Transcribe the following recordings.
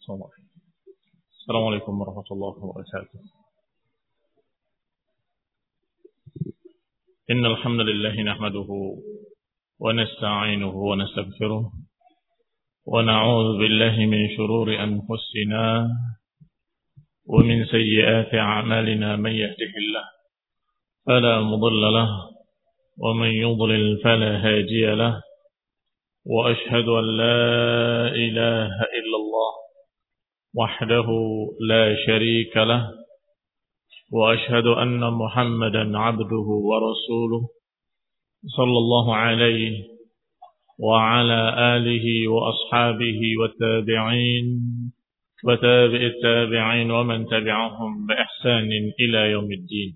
السلام عليكم ورحمة الله وبركاته. إن الحمد لله نحمده ونستعينه ونستغفره ونعوذ بالله من شرور أنفسنا ومن سيئات أعمالنا. من يهده الله فلا مضل له ومن يضلل فلا هادي له، وأشهد أن لا إله إلا الله وحده لا شريك له، وأشهد أن محمدا عبده ورسوله صلى الله عليه وعلى آله وأصحابه والتابعين وتابع التابعين ومن تبعهم بإحسان إلى يوم الدين.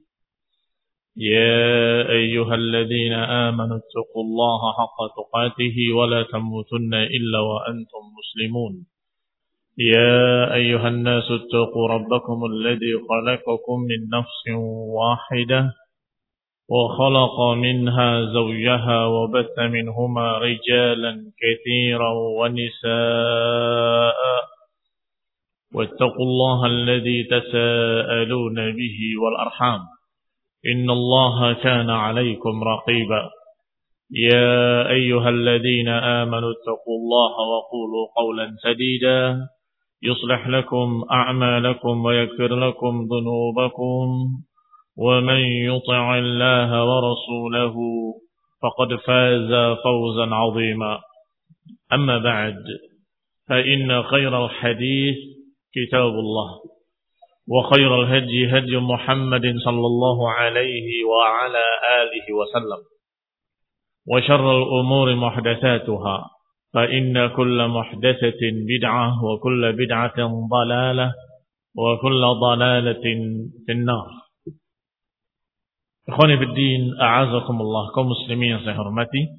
يا أيها الذين آمنوا اتقوا الله حق تقاته ولا تموتن إلا وأنتم مسلمون. يا أيها الناس اتقوا ربكم الذي خلقكم من نفس واحدة وخلق منها زوجها وبث منهما رجالا كثيرا ونساء، واتقوا الله الذي تساءلون به والأرحام إن الله كان عليكم رقيبا. يا أيها الذين آمنوا اتقوا الله وقولوا قولا سديدا يصلح لكم أعمالكم ويغفر لكم ذنوبكم، ومن يطع الله ورسوله فقد فاز فوزا عظيما. أما بعد، فإن خير الحديث كتاب الله، وخير الهدي هدي محمد صلى الله عليه وعلى آله وسلم، وشر الأمور محدثاتها، فإن كل محدثة بدعة وكل بدعة ضلالة وكل ضلالة في النار. Ikhwani fi din, a'azakumullah, kaum muslimin yang saya hormati.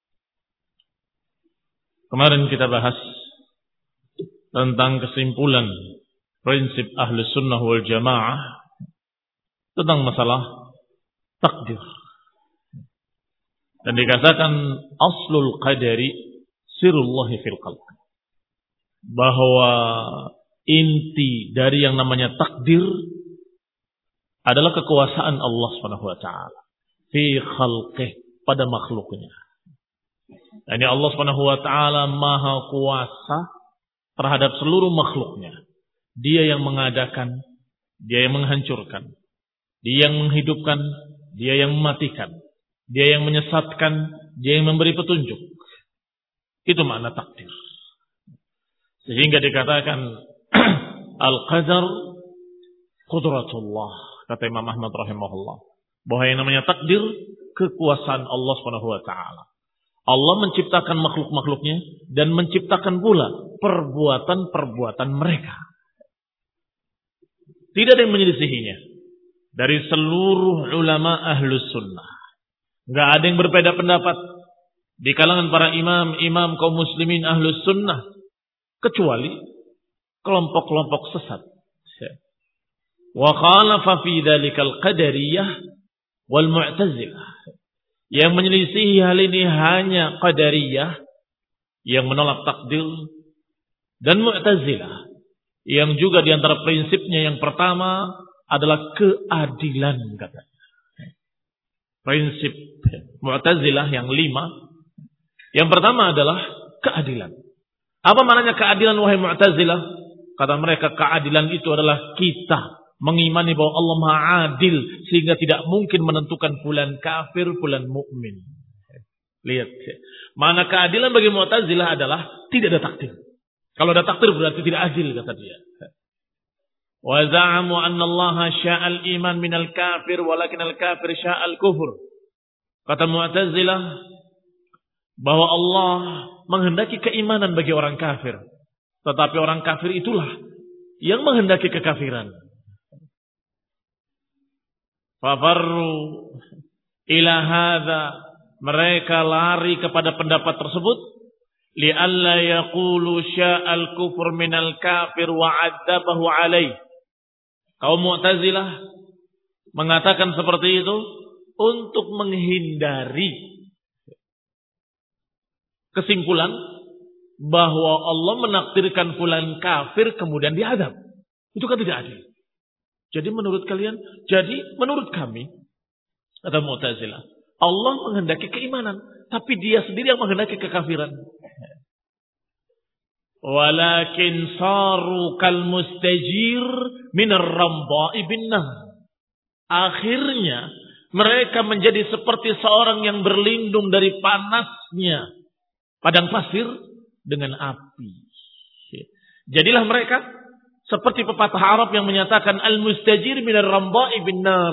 Kemarin kita bahas tentang kesimpulan prinsip ahli sunnah wal jamaah tentang masalah takdir. Dan dikatakan aslul qadari sirullahi fil qalb, bahwa inti dari yang namanya takdir adalah kekuasaan Allah Subhanahu wa taala fi khalqih, pada makhluknya. Yani Allah Subhanahu wa taala maha kuasa terhadap seluruh makhluknya. Dia yang mengadakan, dia yang menghancurkan, dia yang menghidupkan, dia yang mematikan, dia yang menyesatkan, dia yang memberi petunjuk. Itu makna takdir. Sehingga dikatakan al-qadar qudratullah, kata Imam Ahmad rahimahullah, bahwa yang namanya takdir kekuasaan Allah Subhanahu wa taala. Allah menciptakan makhluk-makhluknya dan menciptakan pula perbuatan-perbuatan mereka. Tidak ada yang menyelisihinya dari seluruh ulama ahlus sunnah. Enggak ada yang berbeda pendapat di kalangan para imam kaum muslimin ahlus sunnah, kecuali kelompok-kelompok sesat. Wa khalafa fi dzalikal qadariyah wal mu'tazilah. Yang menyelisihi hal ini hanya qadariyah yang menolak takdir, dan mu'tazilah yang juga di antara prinsipnya yang pertama adalah keadilan, katanya. Prinsip mu'tazilah yang 5, yang pertama adalah keadilan. Apa maknanya keadilan, wahai mu'tazilah? Kata mereka, keadilan itu adalah kita mengimani bahwa Allah Maha Adil, sehingga tidak mungkin menentukan fulan kafir, fulan mukmin. Lihat, mana keadilan bagi Mu'tazilah adalah tidak ada takdir. Kalau ada takdir berarti tidak adil, kata dia. Wa za'amu anna Allah sya'al iman minal kafir walakin al-kafir sya'al kufur. Kata Mu'tazilah bahwa Allah menghendaki keimanan bagi orang kafir, tetapi orang kafir itulah yang menghendaki kekafiran. Fafarru ila hadza, mereka lari kepada pendapat tersebut, li'alla yaqulu sya'al kufur minal kafir wa 'adzabahu 'alaih. Kaum Mu'tazilah mengatakan seperti itu untuk menghindari kesimpulan bahwa Allah menakdirkan fulan kafir kemudian diadab. Itu kan tidak adil. Jadi menurut kami, kata Mu'tazilah, Allah menghendaki keimanan, tapi dia sendiri yang menghendaki kekafiran. Walakin saru kal mustajir minar ramba'i binnah. Akhirnya mereka menjadi seperti seorang yang berlindung dari panasnya padang pasir dengan api. Jadilah mereka seperti pepatah Arab yang menyatakan al-mustajir minar ramba'i binnar.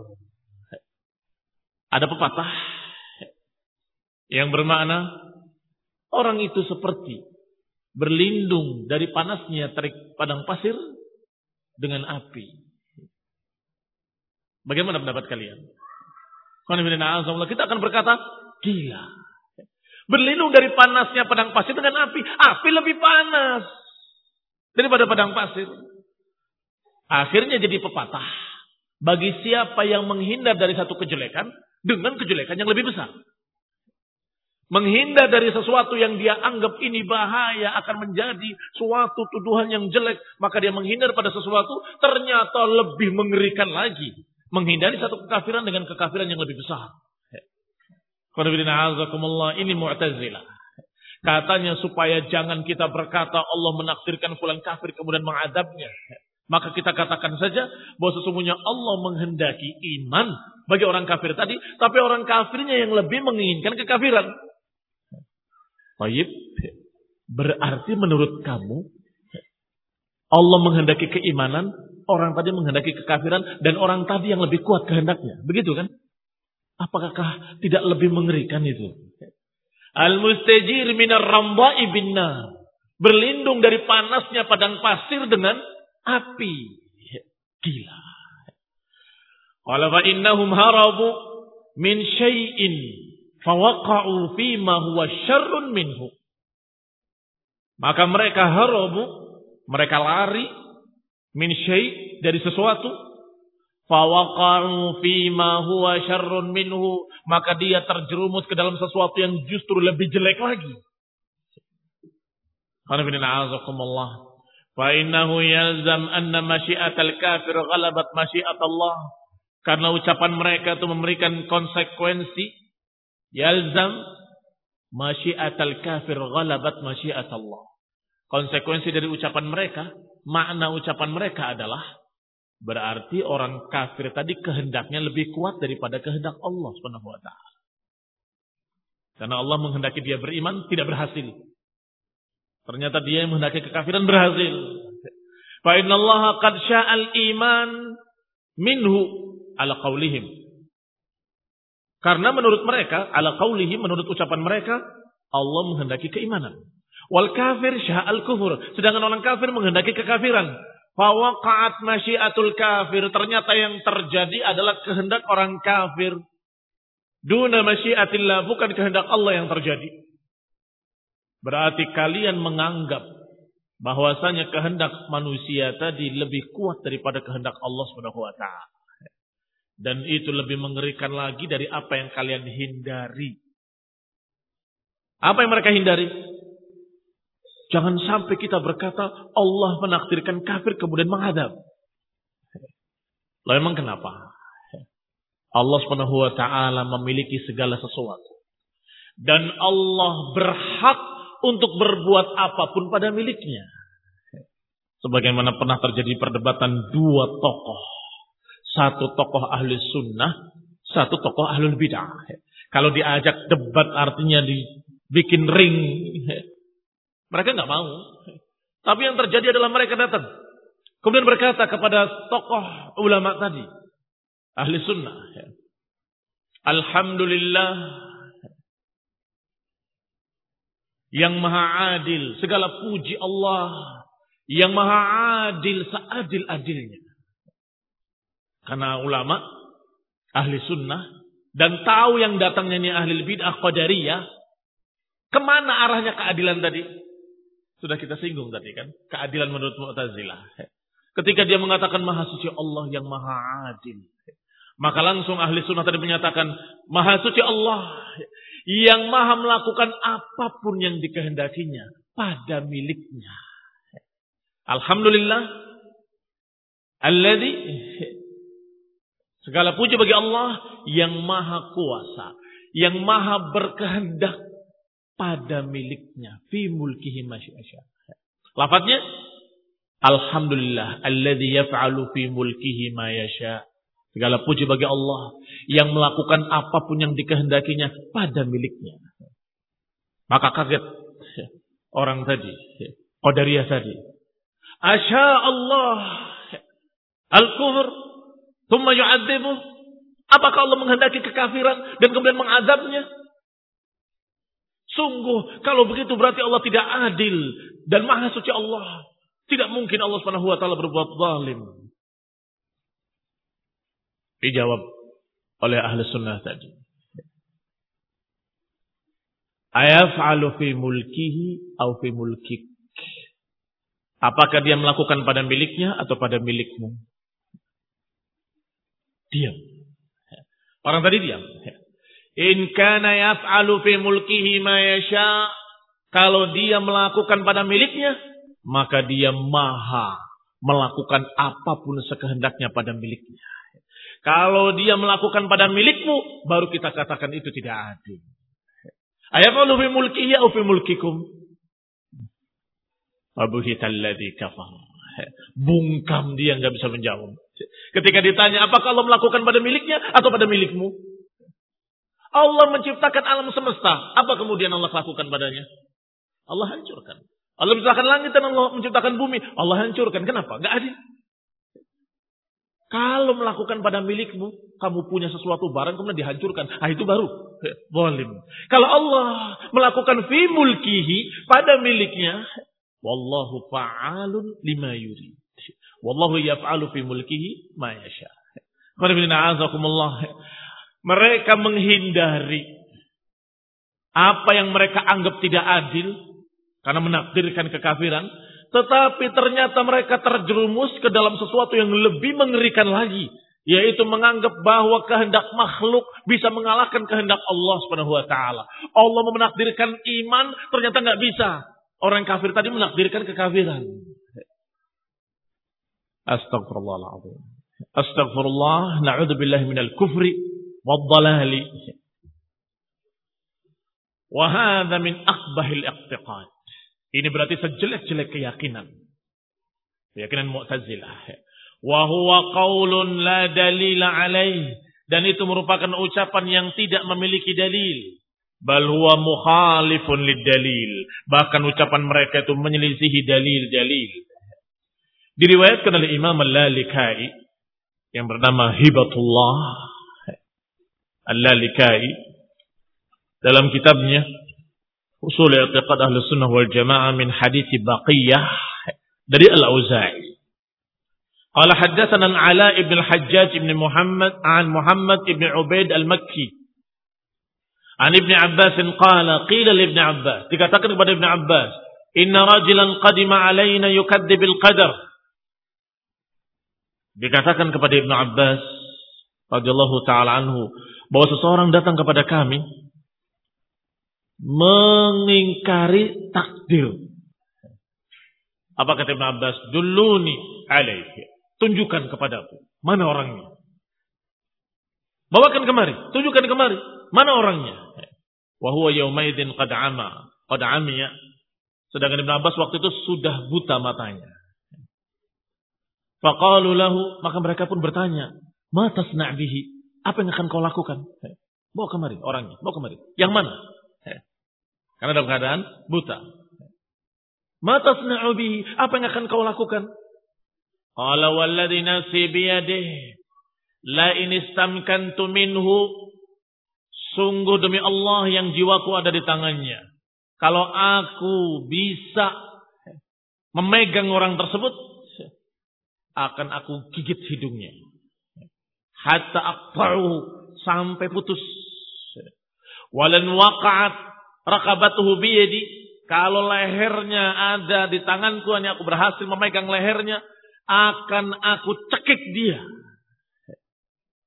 Ada pepatah yang bermakna orang itu seperti berlindung dari panasnya terik padang pasir dengan api. Bagaimana pendapat kalian? Kita akan berkata, gila. Berlindung dari panasnya padang pasir dengan api. Api lebih panas daripada padang pasir. Akhirnya jadi pepatah. Bagi siapa yang menghindar dari satu kejelekan dengan kejelekan yang lebih besar. Menghindar dari sesuatu yang dia anggap ini bahaya akan menjadi suatu tuduhan yang jelek. Maka dia menghindar pada sesuatu ternyata lebih mengerikan lagi. Menghindari satu kekafiran dengan kekafiran yang lebih besar. Ini Mu'tazilah. Katanya supaya jangan kita berkata Allah menakdirkan fulan kafir kemudian mengadabnya. Maka kita katakan saja bahwa sesungguhnya Allah menghendaki iman bagi orang kafir tadi. Tapi orang kafirnya yang lebih menginginkan kekafiran. Baik, berarti menurut kamu Allah menghendaki keimanan, orang tadi menghendaki kekafiran, dan orang tadi yang lebih kuat kehendaknya. Begitu kan? Apakah tidak lebih mengerikan itu? Al-mustajir minar ramba'i binnar. Berlindung dari panasnya padang pasir dengan api. Gila. Qala fa innahum harabu min syai'in fawaqa'u fima huwa syarrun minhu. Maka mereka harabu, mereka lari min syai' dari sesuatu, fawaqa'u fima huwa syarrun minhu, maka dia terjerumus ke dalam sesuatu yang justru lebih jelek lagi. Fa innahu yalzam anna masyiatal kafir ghalabat masyiatallah. Karena ucapan mereka itu memberikan konsekuensi, yalzam masyiatal kafir ghalabat masyiatallah. Konsekuensi dari ucapan mereka, makna ucapan mereka adalah berarti orang kafir tadi kehendaknya lebih kuat daripada kehendak Allah Subhanahu wa taala. Karena Allah menghendaki dia beriman tidak berhasil. Ternyata dia yang menghendaki kekafiran berhasil. Fa innallaha qad sya'al iman minhu ala qaulihim. Karena menurut mereka, ala qaulihim, menurut ucapan mereka, Allah menghendaki keimanan. Wal kafir sya'al kufur. Sedangkan orang kafir menghendaki kekafiran. Fawaqa'at masyiatul kafir. Ternyata yang terjadi adalah kehendak orang kafir. Duna masyiatillah. Bukan kehendak Allah yang terjadi. Berarti kalian menganggap bahwasanya kehendak manusia tadi lebih kuat daripada kehendak Allah Subhanahu wa taala. Dan itu lebih mengerikan lagi dari apa yang kalian hindari. Apa yang mereka hindari? Jangan sampai kita berkata Allah menakdirkan kafir kemudian menghadap. Lalu memang kenapa? Allah Subhanahu wa taala memiliki segala sesuatu. Dan Allah berhak untuk berbuat apapun pada miliknya. Sebagaimana pernah terjadi perdebatan dua tokoh. Satu tokoh ahli sunnah, satu tokoh ahlul bid'ah. Kalau diajak debat artinya dibikin ring. Mereka nggak mau. Tapi yang terjadi adalah mereka datang. Kemudian berkata kepada tokoh ulama tadi. Ahli sunnah. Alhamdulillah. Yang maha adil. Segala puji Allah. Yang maha adil seadil-adilnya. Karena ulama. Ahli sunnah. Dan tahu yang datangnya ini ahli bid'ah qadariyah. Kemana arahnya keadilan tadi? Sudah kita singgung tadi kan. Keadilan menurut Mu'tazilah. Ketika dia mengatakan maha suci Allah yang maha adil. Maka langsung ahli sunnah tadi menyatakan maha suci Allah. Yang maha melakukan apapun yang dikehendakinya. pada miliknya. Alhamdulillah alladzi, segala puji bagi Allah yang maha kuasa, yang maha berkehendak pada miliknya, fi mulkihi ma syaa. Lafadznya alhamdulillah alladzi yaf'alu fi mulkihi ma yasha. Segala puji bagi Allah yang melakukan apapun yang dikehendakinya pada miliknya. Maka kaget orang tadi, Qadariyah tadi. Asya Allah al-kufr thumma yu'adzibu. Apakah Allah menghendaki kekafiran dan kemudian mengazabnya? Sungguh kalau begitu berarti Allah tidak adil dan maha suci Allah. Tidak mungkin Allah Subhanahu wa taala berbuat zalim. Dijawab oleh ahli sunnah tadi. Ayaf'alu fi mulkihi atau fi mulkik. Apakah dia melakukan pada miliknya atau pada milikmu? Diam. Orang tadi diam. In kana yaf'alu fi mulkihi ma yasha. Kalau dia melakukan pada miliknya, maka dia maha melakukan apapun sekehendaknya pada miliknya. Kalau dia melakukan pada milikmu, baru kita katakan itu tidak adil. Ayaf'alu fi mulkihi atau fi mulkikum? Abuhital ladzi kafar. Bungkam dia, enggak bisa menjawab. Ketika ditanya, apakah Allah melakukan pada miliknya atau pada milikmu? Allah menciptakan alam semesta. Apa kemudian Allah lakukan padanya? Allah hancurkan. Allah menciptakan langit dan Allah menciptakan bumi. Allah hancurkan. Kenapa? Enggak adil. Kalau melakukan pada milikmu, kamu punya sesuatu barang kemudian dihancurkan. Itu baru zalim. Kalau Allah melakukan fi mulkihi pada miliknya, wallahu fa'alun lima yurid. Wallahu yaf'alu fi mulkihi ma yasha. Mereka menghindari apa yang mereka anggap tidak adil karena menakdirkan kekafiran, tetapi ternyata mereka terjerumus ke dalam sesuatu yang lebih mengerikan lagi, yaitu menganggap bahwa kehendak makhluk bisa mengalahkan kehendak Allah Subhanahu wa taala. Allah menakdirkan iman, ternyata enggak bisa. Orang kafir tadi menakdirkan kekafiran. Astagfirullahaladzim. Astagfirullah, na'udzubillahi minal kufri wad-dhalali. Wa hadza min aqbahil i'tiqad. Ini berarti sejelek-jelek keyakinan. Keyakinan Mu'tazilah. Wa huwa qaulun la dalila alaih. Dan itu merupakan ucapan yang tidak memiliki dalil. Bal huwa mukhalifun lid-dalil. Bahkan ucapan mereka itu menyelisihi dalil-dalil. Diriwayatkan oleh Imam Al-Lalikai yang bernama Hibatullah Al-Lalikai dalam kitabnya Ushul I'tiqad Ahlus Sunnah wal Jamaah min hadits Baqiyah dari Al-Auza'i. Qala haddatsana Al-Ala ibn Al-Hajjaj ibn Muhammad an Muhammad ibn Ubaid Al-Makki. An Ibn Abbas qala qila li Ibn Abbas, dikatakan kepada Ibn Abbas, inna rajulan qadima alaina yukadzibil qadar. Dikatakan kepada Ibn Abbas radhiyallahu taala anhu bahwa seseorang datang kepada kami mengingkari takdir. Apa kata Ibn Abbas? Dulluni alaihi. Tunjukkan kepadaku. Mana orangnya? Bawakan kemari. Tunjukkan kemari. Mana orangnya? Wa huwa yaumaidin qad amiya. Sedangkan Ibn Abbas waktu itu sudah buta matanya. Faqalu lahu, maka mereka pun bertanya, "Ma tasna' bihi?" Apa yang akan kau lakukan? Bawa kemari orangnya. Bawa kemari. Yang mana? Karena dalam keadaan buta. Ma tasna'u bihi? Apa yang akan kau lakukan? Qala walladzi nafsi biyadihi la in istamkantu minhu. Sungguh demi Allah yang jiwaku ada di tangannya. Kalau aku bisa memegang orang tersebut, akan aku gigit hidungnya. Hatta aqta'u, sampai putus. Walan waqa'at raqabatuhu biyadi, kalau lehernya ada di tanganku, hanya aku berhasil memegang lehernya, akan aku cekik dia.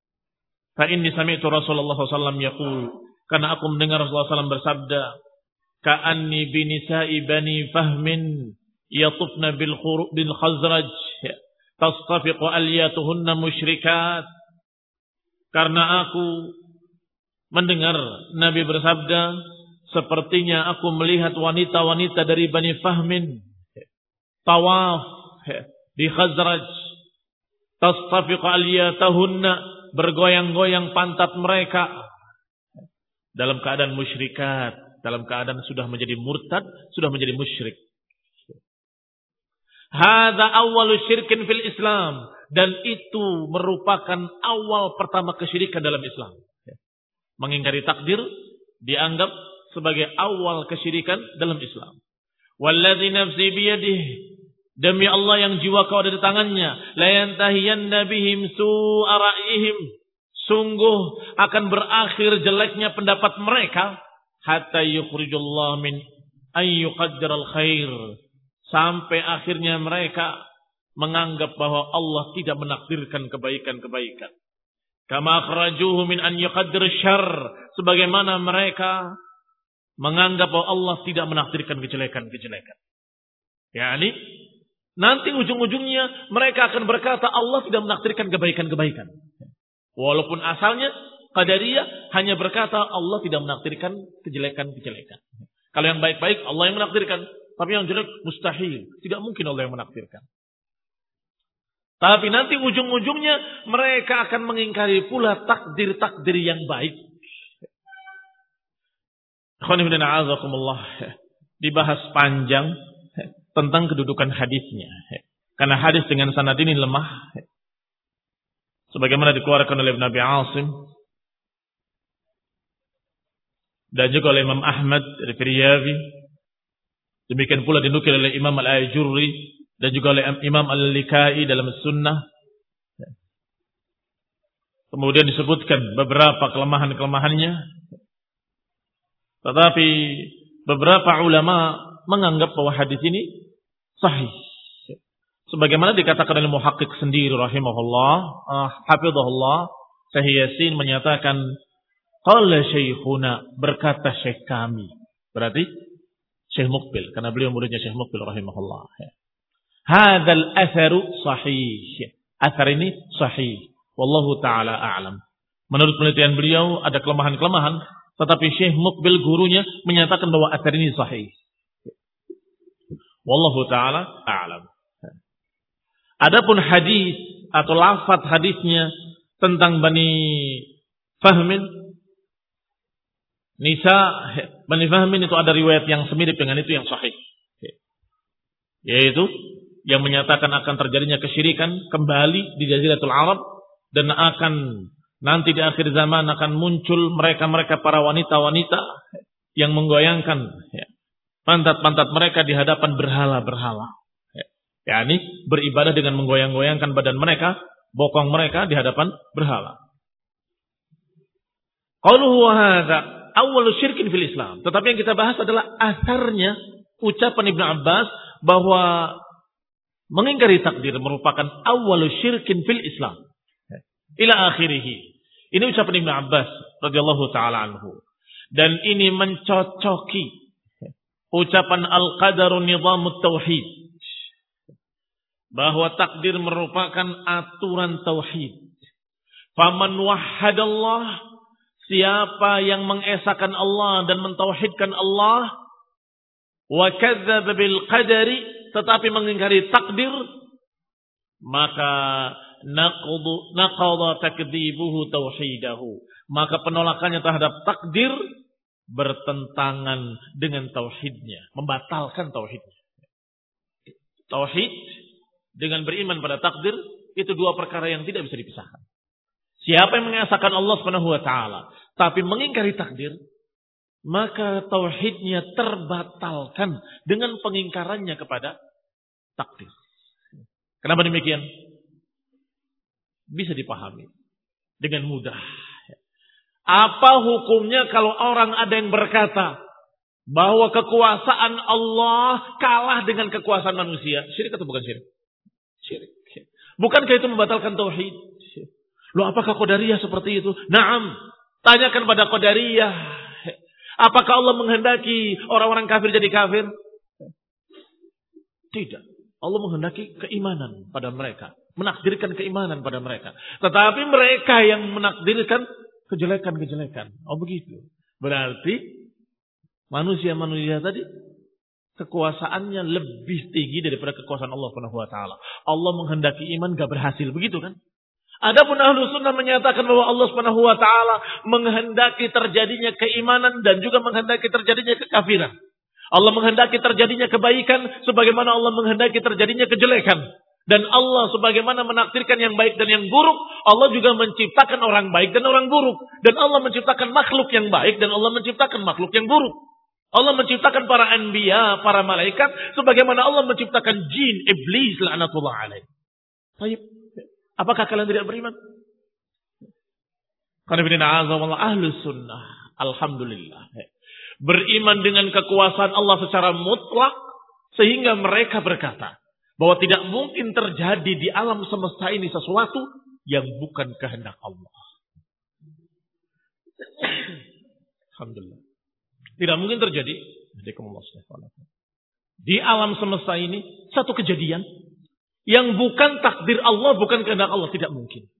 Fa inni sami'tu Rasulullah sallallahu alaihi wasallam yaqul, karena aku mendengar Rasulullah sallallahu alaihi wasallam bersabda, ka'anni binisa'i bani fahmin yatufna bil khazraj tastafiqu aliyatuhunna musyrikat. Karena aku mendengar Nabi bersabda, sepertinya aku melihat wanita-wanita dari Bani Fahmin tawaf di Khazraj, tastafiqu aliyatahunna, bergoyang-goyang pantat mereka dalam keadaan musyrikat, dalam keadaan sudah menjadi murtad, sudah menjadi musyrik. Hadza awwalu syirkin fil Islam, dan itu merupakan awal pertama kesyirikan dalam Islam. Mengingkari takdir dianggap sebagai awal kesyirikan dalam Islam. Wallazi nafsi biyadihi, demi Allah yang jiwaku ada di tangannya, la yantahiyanna bihim su'a ra'yihim, sungguh akan berakhir jeleknya pendapat mereka, hatta yukhrijullah min an yuqaddiral khair, sampai akhirnya mereka menganggap bahwa Allah tidak menakdirkan kebaikan-kebaikan. Kama akhrajuhu min an yuqaddir syarr, sebagaimana mereka menganggap bahwa Allah tidak menakdirkan kejelekan-kejelekan. Yani nanti ujung-ujungnya mereka akan berkata Allah tidak menakdirkan kebaikan-kebaikan. Walaupun asalnya Qadariyah hanya berkata Allah tidak menakdirkan kejelekan-kejelekan. Kalau yang baik-baik Allah yang menakdirkan, tapi yang jelek mustahil, tidak mungkin Allah yang menakdirkan. Tapi nanti ujung-ujungnya mereka akan mengingkari pula takdir-takdir yang baik. Dibahas panjang tentang kedudukan hadisnya. Karena hadis dengan sanad ini lemah. Sebagaimana dikeluarkan oleh Nabi Asim. Dan juga oleh Imam Ahmad dari Firyabi. Demikian pula dinukil oleh Imam Al-Ajurri. Dan juga oleh Imam Al-Likai dalam Sunnah. Kemudian disebutkan beberapa kelemahan-kelemahannya. Tetapi beberapa ulama menganggap bahwa hadis ini sahih. Sebagaimana dikatakan oleh muhaqqiq sendiri rahimahullah, hafizahullah, Syekh Yasin menyatakan, qala syekhuna, berkata syekh kami. Berarti Syekh Muqbil, karena beliau muridnya Syekh Muqbil rahimahullah. Hadzal atharu sahih. Athar ini sahih. Wallahu taala a'lam. Menurut penelitian beliau ada kelemahan-kelemahan, tetapi Syekh Muqbil gurunya menyatakan bahwa athar ini sahih. Wallahu taala a'lam. Adapun hadis atau lafaz hadisnya tentang Bani Fahmin, Nisa Bani Fahmin, itu ada riwayat yang semirip dengan itu yang sahih. Yaitu yang menyatakan akan terjadinya kesyirikan kembali di Jaziratul Arab, dan akan nanti di akhir zaman akan muncul mereka-mereka para wanita-wanita yang menggoyangkan pantat-pantat mereka di hadapan berhala-berhala. Yani beribadah dengan menggoyang-goyangkan badan mereka, bokong mereka di hadapan berhala. Qauluhu hadza awwalu syirkin fil Islam. Tetapi yang kita bahas adalah asarnya ucapan Ibnu Abbas bahwa mengingkari takdir merupakan awwalu syirkin fil Islam. Ila akhirih. Ini ucapan Ibnu Abbas radhiyallahu taala anhu. Dan ini mencocoki ucapan al-qadaru nizamut tauhid, bahwa takdir merupakan aturan tauhid. Faman wahhadallah, siapa yang mengesahkan Allah dan mentauhidkan Allah, wa kadzdzaba bil qadari, tetapi mengingkari takdir, maka naqadha takdzibuhu tauhidahu, maka penolakannya terhadap takdir bertentangan dengan tauhidnya, membatalkan tauhidnya. Tauhid dengan beriman pada takdir itu dua perkara yang tidak bisa dipisahkan. Siapa yang mengesahkan Allah Subhanahu wa taala tapi mengingkari takdir, maka tauhidnya terbatalkan dengan pengingkarannya kepada takdir. Kenapa demikian? Bisa dipahami dengan mudah. Apa hukumnya kalau orang ada yang berkata bahwa kekuasaan Allah kalah dengan kekuasaan manusia? Syirik atau bukan syirik? Syirik. Bukankah itu membatalkan tauhid? Loh, apakah Qadariyah seperti itu? Naam. Tanyakan pada Qadariyah. Apakah Allah menghendaki orang-orang kafir jadi kafir? Tidak. Allah menghendaki keimanan pada mereka. Menakdirkan keimanan pada mereka. Tetapi mereka yang menakdirkan kejelekan-kejelekan. Oh begitu. Berarti manusia-manusia tadi kekuasaannya lebih tinggi daripada kekuasaan Allah Subhanahu wa taala. Allah menghendaki iman gak berhasil, begitu kan? Adapun ahlu sunnah menyatakan bahwa Allah Subhanahu wa taala menghendaki terjadinya keimanan dan juga menghendaki terjadinya kekafiran. Allah menghendaki terjadinya kebaikan sebagaimana Allah menghendaki terjadinya kejelekan. Dan Allah sebagaimana menakdirkan yang baik dan yang buruk, Allah juga menciptakan orang baik dan orang buruk. Dan Allah menciptakan makhluk yang baik dan Allah menciptakan makhluk yang buruk. Allah menciptakan para anbiya, para malaikat, sebagaimana Allah menciptakan jin, iblis, la'natullah alaih. Baik. Apakah kalian tidak beriman? Karena ahlu sunnah, alhamdulillah, beriman dengan kekuasaan Allah secara mutlak, sehingga mereka berkata bahwa tidak mungkin terjadi di alam semesta ini sesuatu yang bukan kehendak Allah. Alhamdulillah. Tidak mungkin terjadi di alam semesta ini satu kejadian yang bukan takdir Allah, bukan kehendak Allah. Tidak mungkin.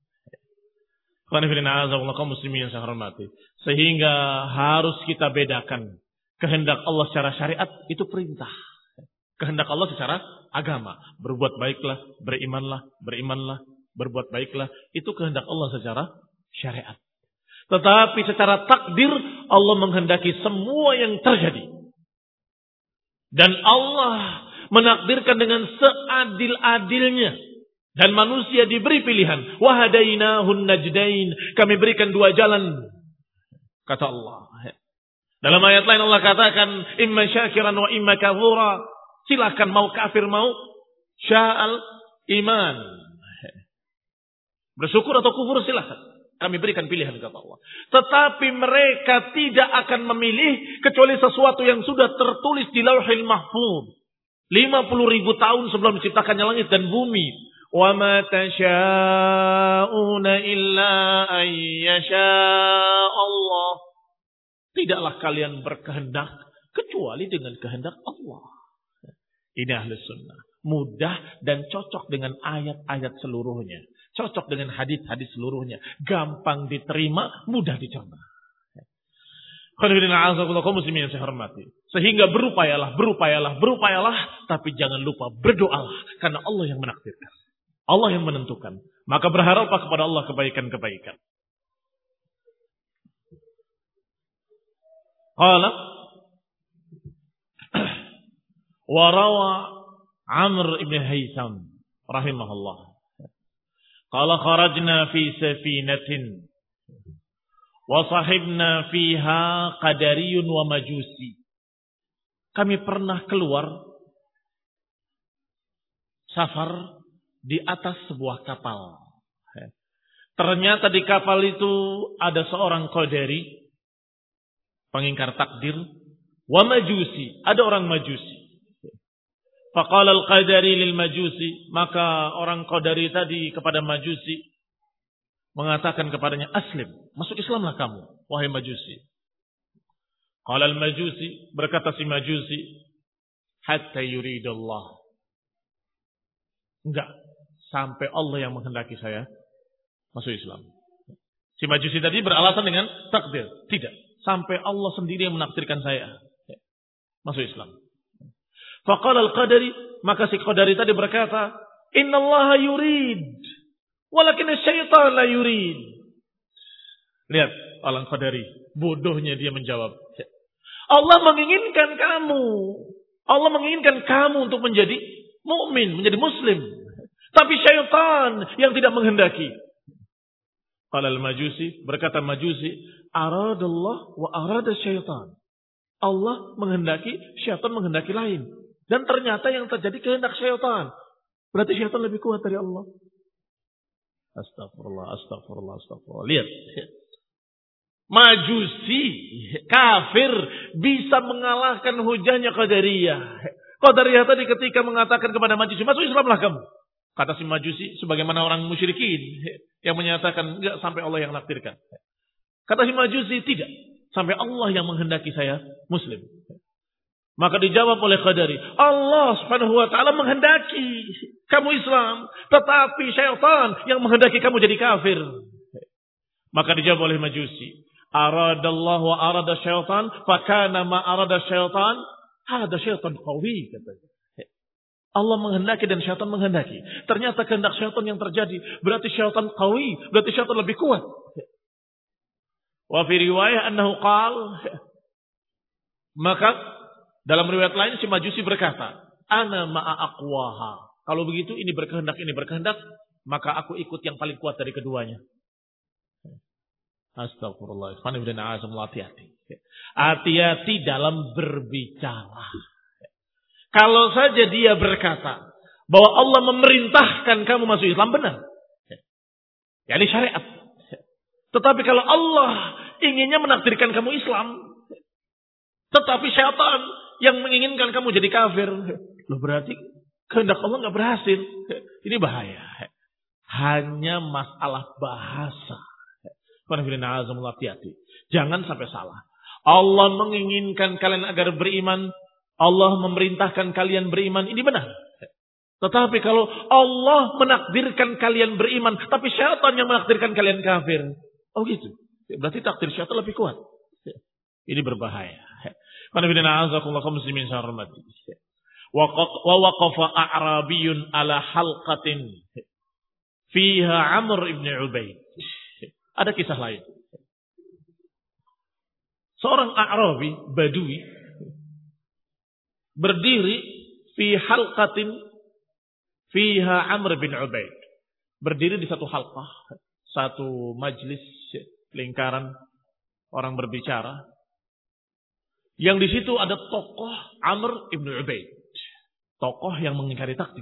Kaum muslimin yang saya hormati. Sehingga harus kita bedakan. Kehendak Allah secara syariat itu perintah. Kehendak Allah secara agama. Berbuat baiklah, berimanlah, berbuat baiklah. Itu kehendak Allah secara syariat. Tetapi secara takdir Allah menghendaki semua yang terjadi. Dan Allah menakdirkan dengan seadil-adilnya. Dan manusia diberi pilihan. Wahadainahun najdain. Kami berikan dua jalan. Kata Allah. Dalam ayat lain Allah katakan. Imma syakiran wa imma kafura. Silahkan mau kafir mau. Sya'al iman. Bersyukur atau kufur silahkan. Kami berikan pilihan kata Allah. Tetapi mereka tidak akan memilih. Kecuali sesuatu yang sudah tertulis di Lauhil Mahfuz. 50.000 tahun sebelum diciptakannya langit dan bumi. وَمَا تَشَاءُونَ إِلَّا أَن يَشَاءَ اللَّهُ. Tidaklah kalian berkehendak kecuali dengan kehendak Allah. Ini ahli sunnah. Mudah dan cocok dengan ayat-ayat seluruhnya. Cocok dengan hadis-hadis seluruhnya. Gampang diterima, mudah dicerna. Muslimin yang saya hormati. Sehingga berupayalah. Tapi jangan lupa berdoalah. Karena Allah yang menakdirkan. Allah yang menentukan. Maka berharaplah kepada Allah kebaikan-kebaikan. Qala wa rawa Amr ibn Haytham rahimahullah. Qala kharajna fi safinatin wa sahibna fiha qadariyun wa majusi. Kami pernah keluar safar di atas sebuah kapal. Ternyata di kapal itu ada seorang qadari, pengingkar takdir, wa majusi, ada orang majusi. Faqala al-qadari lil majusi, maka orang qadari tadi kepada majusi mengatakan kepadanya, aslim, masuk Islamlah kamu, wahai majusi. Qala al-majusi, berkata si majusi, hatta yuridallah. Enggak, sampai Allah yang menghendaki saya masuk Islam. Si majusi tadi beralasan dengan takdir. Tidak, sampai Allah sendiri yang menakdirkan saya masuk Islam. Faqala al-qadari, maka si qadari tadi berkata, innallaha yurid, walakin syaitan la yurid. Lihat, orang qadari, bodohnya dia menjawab. Allah menginginkan kamu. Allah menginginkan kamu untuk menjadi mukmin, menjadi muslim. Tapi syaitan yang tidak menghendaki. Qala al-majusi, berkata majusi, aradallah wa arada syaitan. Allah menghendaki, syaitan menghendaki lain. Dan ternyata yang terjadi kehendak syaitan. Berarti syaitan lebih kuat dari Allah. Astagfirullah. Lihat. Majusi, kafir, bisa mengalahkan hujahnya Qadariyah. Qadariyah tadi ketika mengatakan kepada majusi, masuk Islamlah kamu. Kata si majusi, sebagaimana orang musyrikin yang menyatakan, enggak, sampai Allah yang nakdirkan. Kata si majusi, tidak. Sampai Allah yang menghendaki saya muslim. Maka dijawab oleh Qadari, Allah subhanahu wa ta'ala menghendaki kamu Islam. Tetapi syaitan yang menghendaki kamu jadi kafir. Maka dijawab oleh Majusi, aradallahu wa arada syaitan, fakana ma arada syaitan, ada syaitan qawi, katanya. Allah menghendaki dan syaitan menghendaki. Ternyata kehendak syaitan yang terjadi. Berarti syaitan qawi, berarti syaitan lebih kuat. Wa fi riwayah annahu qal, maka dalam riwayat lain si Majusi berkata, ana ma'a aqwaha. Kalau begitu ini berkehendak, maka aku ikut yang paling kuat dari keduanya. Astagfirullah. Hati-hati dalam berbicara. Kalau saja dia berkata bahwa Allah memerintahkan kamu masuk Islam, benar. Ya, ini syariat. Tetapi kalau Allah inginnya menakdirkan kamu Islam, tetapi syaitan yang menginginkan kamu jadi kafir, loh berarti kehendak Allah nggak berhasil. Ini bahaya. Hanya masalah bahasa. Hati-hati. Jangan sampai salah. Allah menginginkan kalian agar beriman. Allah memerintahkan kalian beriman. Ini benar. Tetapi kalau Allah menakdirkan kalian beriman, tapi syaitan yang menakdirkan kalian kafir. Oh gitu. Berarti takdir syaitan lebih kuat. Ini berbahaya. Muslimin syarmati. Wa waqafa a'rabiyun ala halqatin fiha Amr ibn Ubaid. Ada kisah lain. Seorang A'rabi, Badui, berdiri fi halqatin fiha Amr bin Ubaid. Berdiri di satu halqah, satu majlis lingkaran orang berbicara. Yang di situ ada tokoh Amr ibn Ubaid. Tokoh yang mengingkari takdir.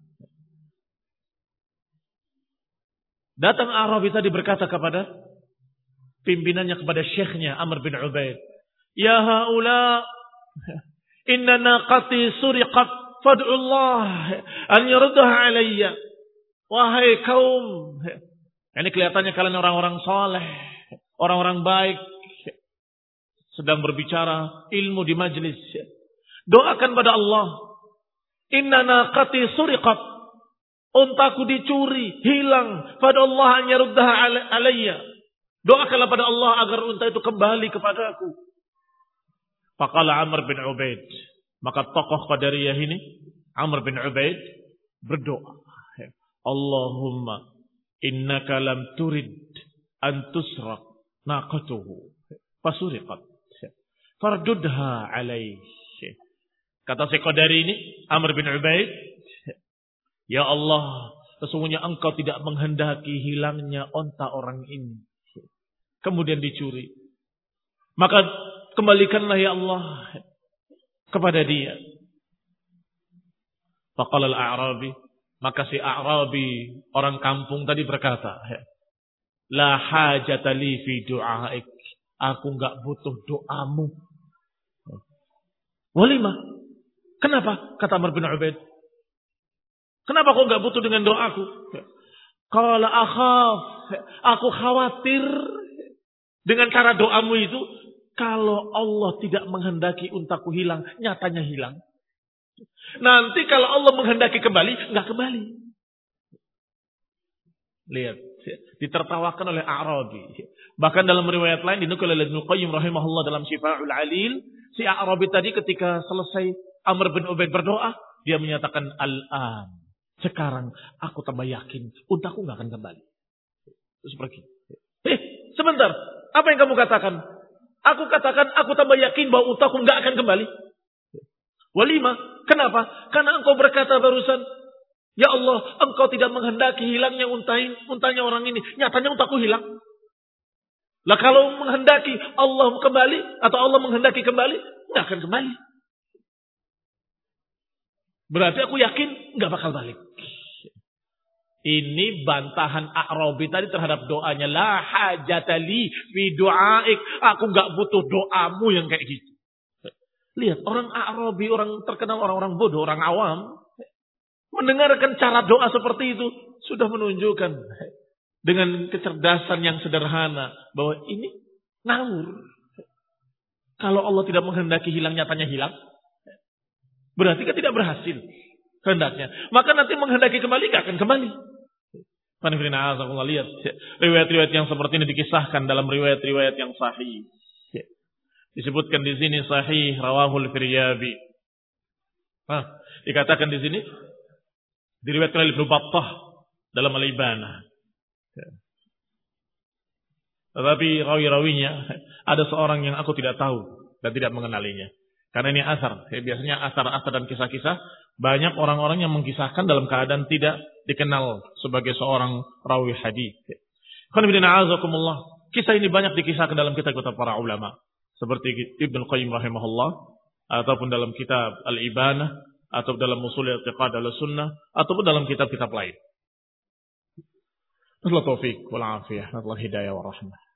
Datang Arabi tadi berkata kepada pimpinannya, kepada syekhnya Amr bin Ubaid, ya haula inna naqati suriqat fad'ullah an yurdaha alayya. Wahai kaum, ini kelihatannya kalian orang-orang saleh, orang-orang baik, sedang berbicara ilmu di majlis. Doakan pada Allah, inna naqati suriqat, untaku dicuri, hilang. Fadallah an yaruddaha alayya. Doakanlah pada Allah agar unta itu kembali kepadaku. Faqala Amr bin Ubaid. Maka tokoh Qadariyah ini, Amr bin Ubaid, berdoa. Allahumma innaka lam turid an tusraq naqatuhu. Fasuriqat. Fardudha alaih. Kata si Qadari ini, Amr bin Ubaid, ya Allah, sesungguhnya engkau tidak menghendaki hilangnya onta orang ini. Kemudian dicuri. Maka kembalikanlah ya Allah kepada dia. Faqala al-A'rabi. Maka si A'rabi, orang kampung tadi berkata, la hajata li fi du'aik. Aku enggak butuh doamu. Walima. Kenapa? Kata Amr bin Ubaid. Kenapa kau enggak butuh dengan doaku? Qala akhaf. Aku khawatir dengan cara doamu itu, kalau Allah tidak menghendaki untaku hilang, nyatanya hilang. Nanti kalau Allah menghendaki kembali, enggak kembali. Lihat, ditertawakan oleh A'rabi. Bahkan dalam riwayat lain dinukil oleh Ibnu Qayyim rahimahullah dalam Syifa'ul Alil, si A'rabi tadi ketika selesai Amr bin Ubaid berdoa, dia menyatakan al-an. Sekarang aku tambah yakin untaku enggak akan kembali. Terus pergi. Sebentar, apa yang kamu katakan? Aku katakan aku tambah yakin bahwa untaku enggak akan kembali. Walima, kenapa? Karena engkau berkata barusan, ya Allah, engkau tidak menghendaki hilangnya untanya orang ini. Nyatanya untaku hilang. Lah kalau menghendaki Allah kembali, atau Allah menghendaki kembali, enggak akan kembali. Berarti aku yakin enggak bakal balik. Ini bantahan A'rabi tadi terhadap doanya. La hajatali fi du'aik. Aku enggak butuh doamu yang kayak gitu. Lihat, orang A'rabi, orang terkenal, orang-orang bodoh, orang awam, mendengarkan cara doa seperti itu, sudah menunjukkan dengan kecerdasan yang sederhana bahwa ini ngawur. Kalau Allah tidak menghendaki hilang, nyatanya hilang. Berarti kan tidak berhasil kehendaknya. Maka nanti menghendaki kembali, gak akan kembali. Lihat riwayat-riwayat yang seperti ini dikisahkan dalam riwayat-riwayat yang sahih. Disebutkan di sini sahih rawahul Firyabi. Dikatakan di sini diriwayatkan oleh Ibnu Battah dalam Al-Ibanah. Tetapi rawi-rawinya ada seorang yang aku tidak tahu dan tidak mengenalinya. Karena ini asar. Biasanya asar-asar dan kisah-kisah banyak orang-orang yang mengkisahkan dalam keadaan tidak dikenal sebagai seorang rawi hadis. Kisah ini banyak dikisahkan dalam kitab-kitab para ulama. Seperti Ibnu Qayyim rahimahullah. Ataupun dalam kitab Al-Ibanah. Atau dalam Ushul I'tiqad Ahlussunnah. Ataupun dalam kitab-kitab lain. Allah taufiq wal afiyah. Allah hidayah wa rahmah.